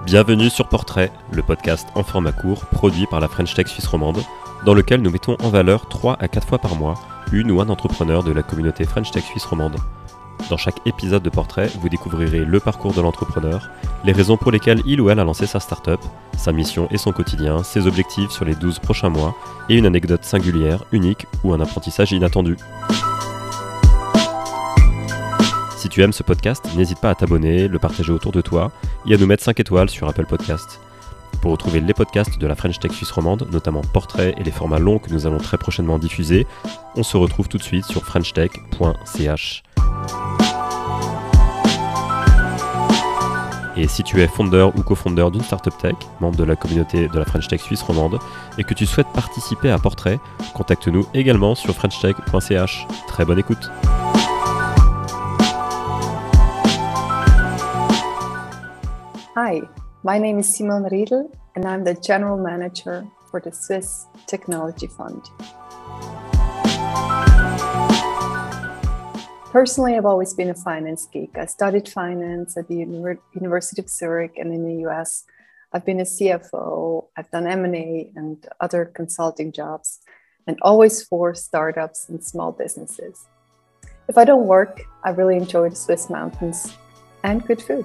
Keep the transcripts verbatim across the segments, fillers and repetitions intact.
Bienvenue sur Portrait, le podcast en format court produit par la French Tech Suisse romande, dans lequel nous mettons en valeur trois à quatre fois par mois une ou un entrepreneur de la communauté French Tech Suisse romande. Dans chaque épisode de Portrait, vous découvrirez le parcours de l'entrepreneur, les raisons pour lesquelles il ou elle a lancé sa start-up, sa mission et son quotidien, ses objectifs sur les douze prochains mois et une anecdote singulière, unique ou un apprentissage inattendu. Si tu aimes ce podcast, n'hésite pas à t'abonner, le partager autour de toi et à nous mettre cinq étoiles sur Apple Podcasts. Pour retrouver les podcasts de la French Tech Suisse romande, notamment Portrait et les formats longs que nous allons très prochainement diffuser, on se retrouve tout de suite sur french tech point c h. Et si tu es fondeur ou cofondeur d'une startup tech, membre de la communauté de la French Tech Suisse romande, et que tu souhaites participer à Portrait, contacte-nous également sur french tech point c h. Très bonne écoute. Hi, my name is Simone Riedl and I'm the General Manager for the Swiss Technology Fund. Personally, I've always been a finance geek. I studied finance at the Uni- University of Zurich and in the U S. I've been a C F O, I've done M and A and other consulting jobs, and always for startups and small businesses. If I don't work, I really enjoy the Swiss mountains and good food.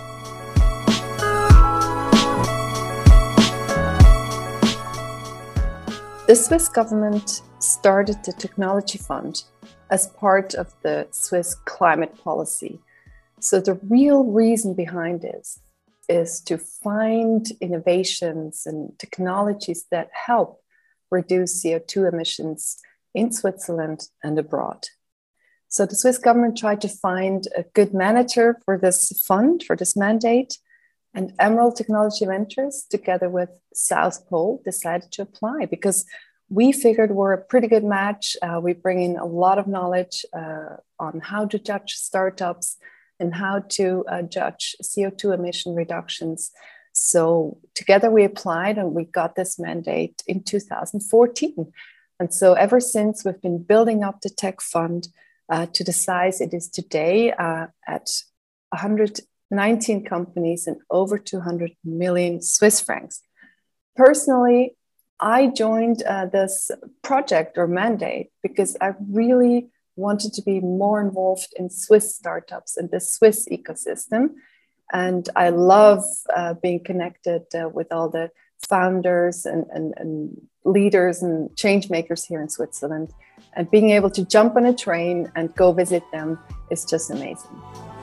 The Swiss government started the Technology Fund as part of the Swiss climate policy. So the real reason behind this is to find innovations and technologies that help reduce C O two emissions in Switzerland and abroad. So the Swiss government tried to find a good manager for this fund, for this mandate, and Emerald Technology Ventures, together with South Pole, decided to apply because we figured we're a pretty good match. Uh, we bring in a lot of knowledge uh, on how to judge startups and how to uh, judge C O two emission reductions. So together we applied and we got this mandate in two thousand fourteen. And so ever since, we've been building up the tech fund uh, to the size it is today uh, at one hundred nineteen companies and over two hundred million Swiss francs. Personally, I joined uh, this project or mandate because I really wanted to be more involved in Swiss startups and the Swiss ecosystem. And I love uh, being connected uh, with all the founders and, and, and leaders and change makers here in Switzerland. And being able to jump on a train and go visit them is just amazing.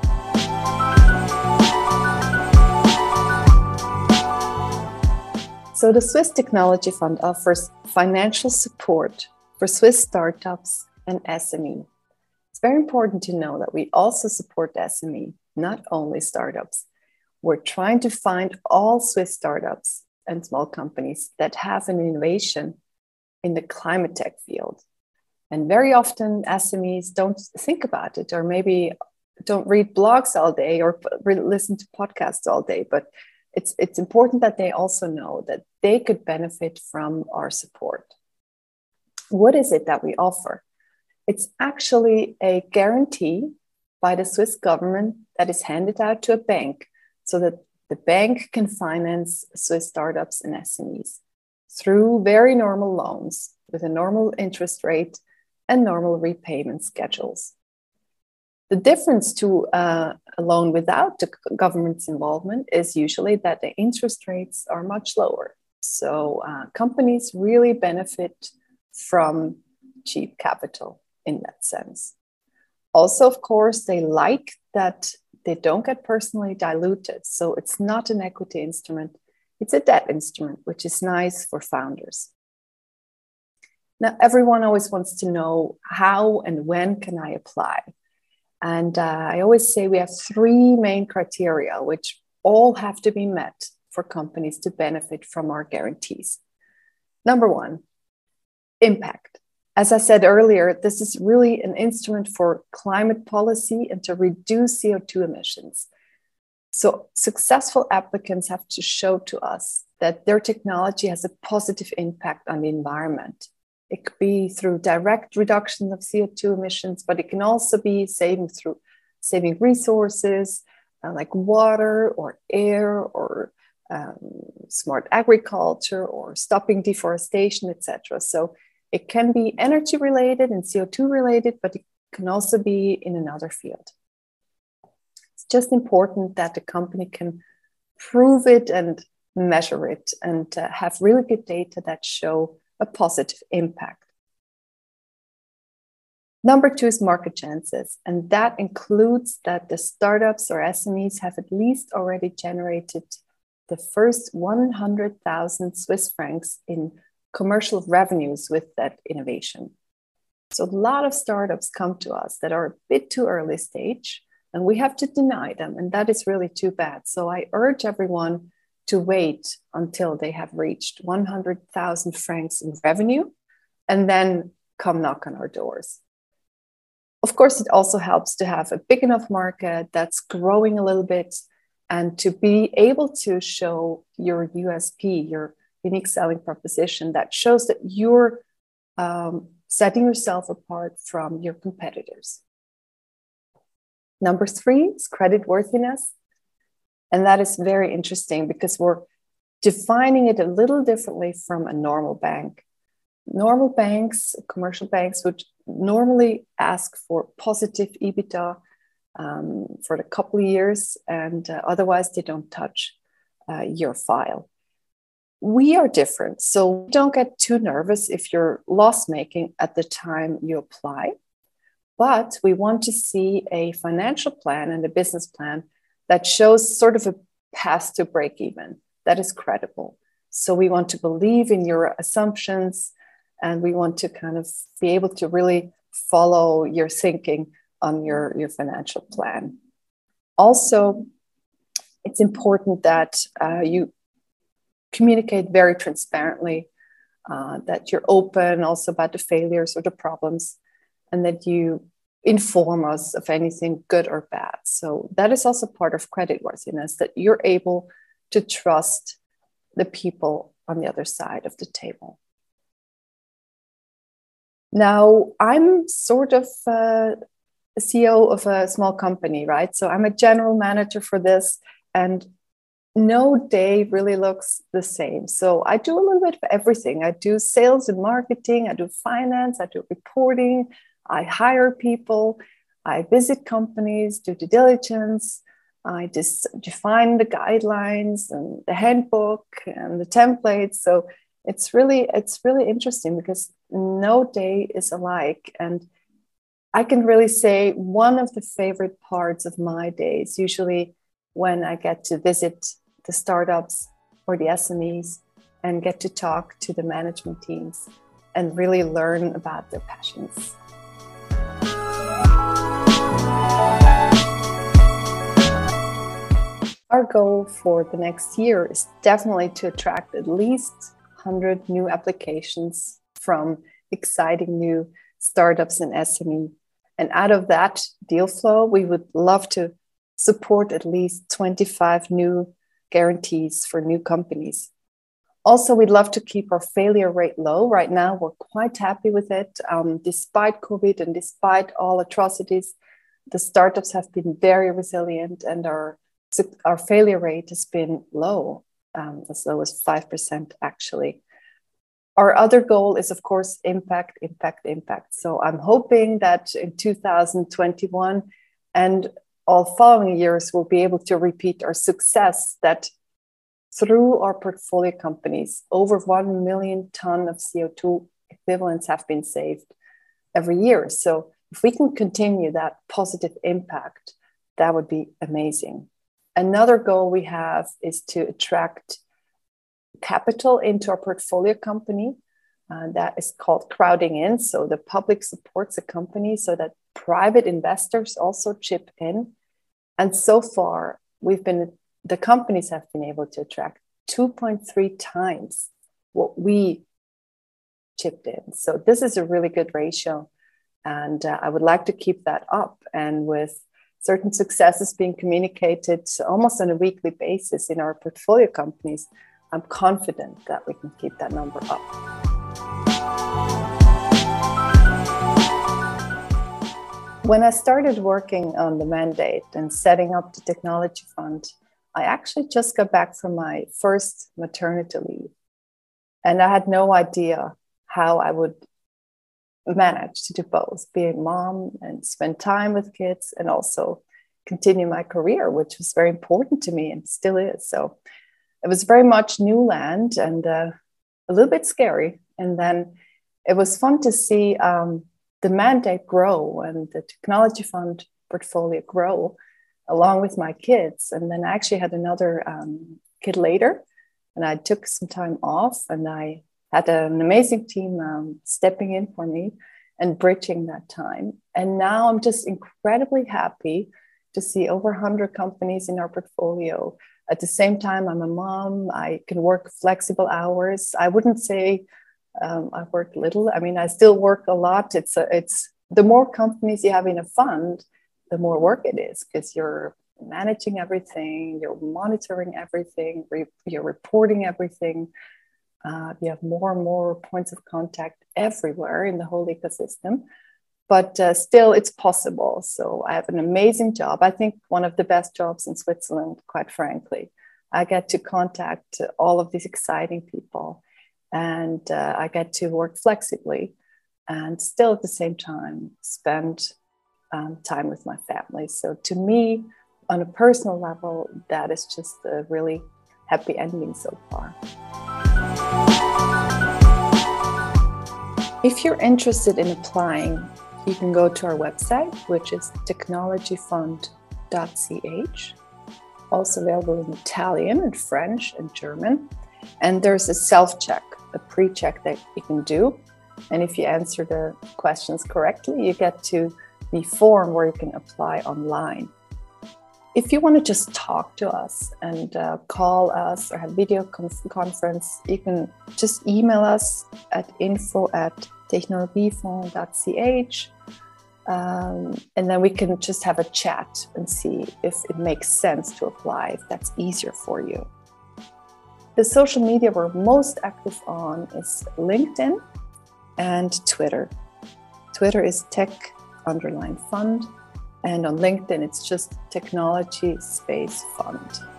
So the Swiss Technology Fund offers financial support for Swiss startups and S M E. It's very important to know that we also support S M E, not only startups. We're trying to find all Swiss startups and small companies that have an innovation in the climate tech field. And very often S M Es don't think about it, or maybe don't read blogs all day or listen to podcasts all day, but It's, it's important that they also know that they could benefit from our support. What is it that we offer? It's actually a guarantee by the Swiss government that is handed out to a bank so that the bank can finance Swiss startups and S M Es through very normal loans with a normal interest rate and normal repayment schedules. The difference to uh, a loan without the government's involvement is usually that the interest rates are much lower. So uh, companies really benefit from cheap capital in that sense. Also, of course, they like that they don't get personally diluted. So it's not an equity instrument, it's a debt instrument, which is nice for founders. Now, everyone always wants to know how and when can I apply? And uh, I always say we have three main criteria, which all have to be met for companies to benefit from our guarantees. Number one, impact. As I said earlier, this is really an instrument for climate policy and to reduce C O two emissions. So successful applicants have to show to us that their technology has a positive impact on the environment. It could be through direct reduction of C O two emissions, but it can also be saving through saving resources uh, like water or air or um, smart agriculture or stopping deforestation, et cetera. So it can be energy related and C O two related, but it can also be in another field. It's just important that the company can prove it and measure it and uh, have really good data that show a positive impact. Number two is market chances, and that includes that the startups or S M Es have at least already generated the first one hundred thousand Swiss francs in commercial revenues with that innovation. So a lot of startups come to us that are a bit too early stage, and we have to deny them, and that is really too bad. So I urge everyone to wait until they have reached one hundred thousand francs in revenue, and then come knock on our doors. Of course, it also helps to have a big enough market that's growing a little bit and to be able to show your U S P, your unique selling proposition that shows that you're um, setting yourself apart from your competitors. Number three is creditworthiness. And that is very interesting because we're defining it a little differently from a normal bank. Normal banks, commercial banks, would normally ask for positive EBITDA um, for a couple of years, and uh, otherwise they don't touch uh, your file. We are different, so don't get too nervous if you're loss-making at the time you apply, but we want to see a financial plan and a business plan that shows sort of a path to break even that is credible. So we want to believe in your assumptions, and we want to kind of be able to really follow your thinking on your, your financial plan. Also, it's important that uh, you communicate very transparently, uh, that you're open also about the failures or the problems, and that you inform us of anything good or bad. So that is also part of creditworthiness, that you're able to trust the people on the other side of the table. Now, I'm sort of uh, a C E O of a small company, right? So I'm a general manager for this, and no day really looks the same. So I do a little bit of everything. I do sales and marketing, I do finance, I do reporting, I hire people, I visit companies, do due diligence, I just define the guidelines and the handbook and the templates. So it's really, it's really interesting because no day is alike. And I can really say one of the favorite parts of my day is usually when I get to visit the startups or the S M Es and get to talk to the management teams and really learn about their passions. Our goal for the next year is definitely to attract at least one hundred new applications from exciting new startups and S M E. And out of that deal flow, we would love to support at least twenty-five new guarantees for new companies. Also, we'd love to keep our failure rate low. Right now, we're quite happy with it. Um, despite COVID and despite all atrocities, the startups have been very resilient, and our, our failure rate has been low, um, as low as five percent actually. Our other goal is, of course, impact, impact, impact. So I'm hoping that in two thousand twenty-one and all following years, we'll be able to repeat our success, that through our portfolio companies, over one million ton of C O two equivalents have been saved every year. So if we can continue that positive impact, that would be amazing. Another goal we have is to attract capital into our portfolio company. Uh, that is called crowding in. So the public supports a company so that private investors also chip in. And so far, we've been, the companies have been able to attract two point three times what we chipped in. So this is a really good ratio. And uh, I would like to keep that up. And with certain successes being communicated almost on a weekly basis in our portfolio companies, I'm confident that we can keep that number up. When I started working on the mandate and setting up the technology fund, I actually just got back from my first maternity leave, and I had no idea how I would manage to do both, be a mom and spend time with kids and also continue my career, which was very important to me and still is. So it was very much new land and uh, a little bit scary. And then it was fun to see um, the mandate grow and the technology fund portfolio grow along with my kids. And then I actually had another um, kid later, and I took some time off, and I had an amazing team um, stepping in for me and bridging that time. And now I'm just incredibly happy to see over one hundred companies in our portfolio. At the same time, I'm a mom. I can work flexible hours. I wouldn't say um, I work little. I mean, I still work a lot. It's a, it's the more companies you have in a fund, the more work it is, because you're managing everything, you're monitoring everything, re- you're reporting everything. Uh, you have more and more points of contact everywhere in the whole ecosystem. But uh, still, it's possible. So I have an amazing job. I think one of the best jobs in Switzerland, quite frankly. I get to contact all of these exciting people, and uh, I get to work flexibly and still at the same time spend um, time with my family. So to me, on a personal level, that is just a really happy ending so far. If you're interested in applying, you can go to our website, which is technology fund dot c h, also available in Italian and French and German. And there's a self-check, a pre-check that you can do. And if you answer the questions correctly, you get to the form where you can apply online. If you want to just talk to us and uh, call us or have video conf- conference, you can just email us at info at technologiefond dot c h. Um, and then we can just have a chat and see if it makes sense to apply, if that's easier for you. The social media we're most active on is LinkedIn and Twitter. Twitter is tech underline fund. And on LinkedIn, it's just technology space fund.